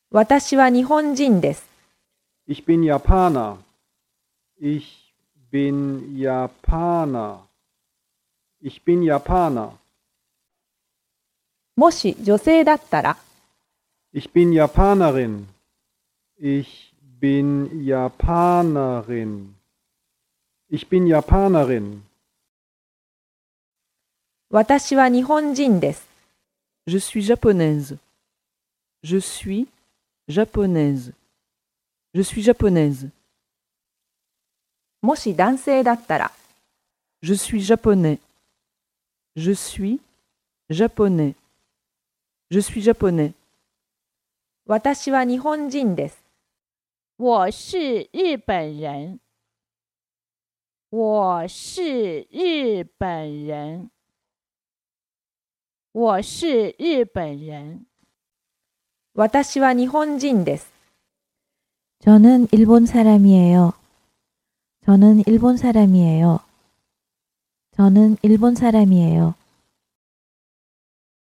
私は日本人です。 Ich bin Japaner. Ich bin Japaner. Ich bin Japaner. もし女性だったら、 Ich bin Japanerin. Ich bin Japanerin. Ich bin Japanerin. 私は日本人です。 Je suis japonaise. Je suis japonaise. Je suis japonaise. もし男性だったら、 Je suis japonais. Je suis japonais. Je suis japonais. 私は日本人です。 我是日本人。我是日本人。我是日本人。 私は日本人です。 저는 일본 사람이에요. 저는 일본 사람이에요. 저는 일본 사람이에요.